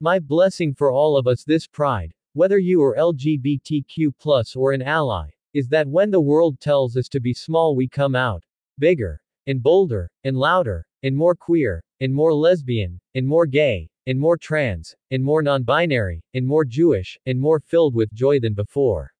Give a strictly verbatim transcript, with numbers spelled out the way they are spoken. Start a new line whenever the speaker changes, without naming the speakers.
My blessing for all of us this pride, whether you are L G B T Q plus or an ally, is that when the world tells us to be small we come out bigger, and bolder, and louder, and more queer, and more lesbian, and more gay, and more trans, and more non-binary, and more Jewish, and more filled with joy than before.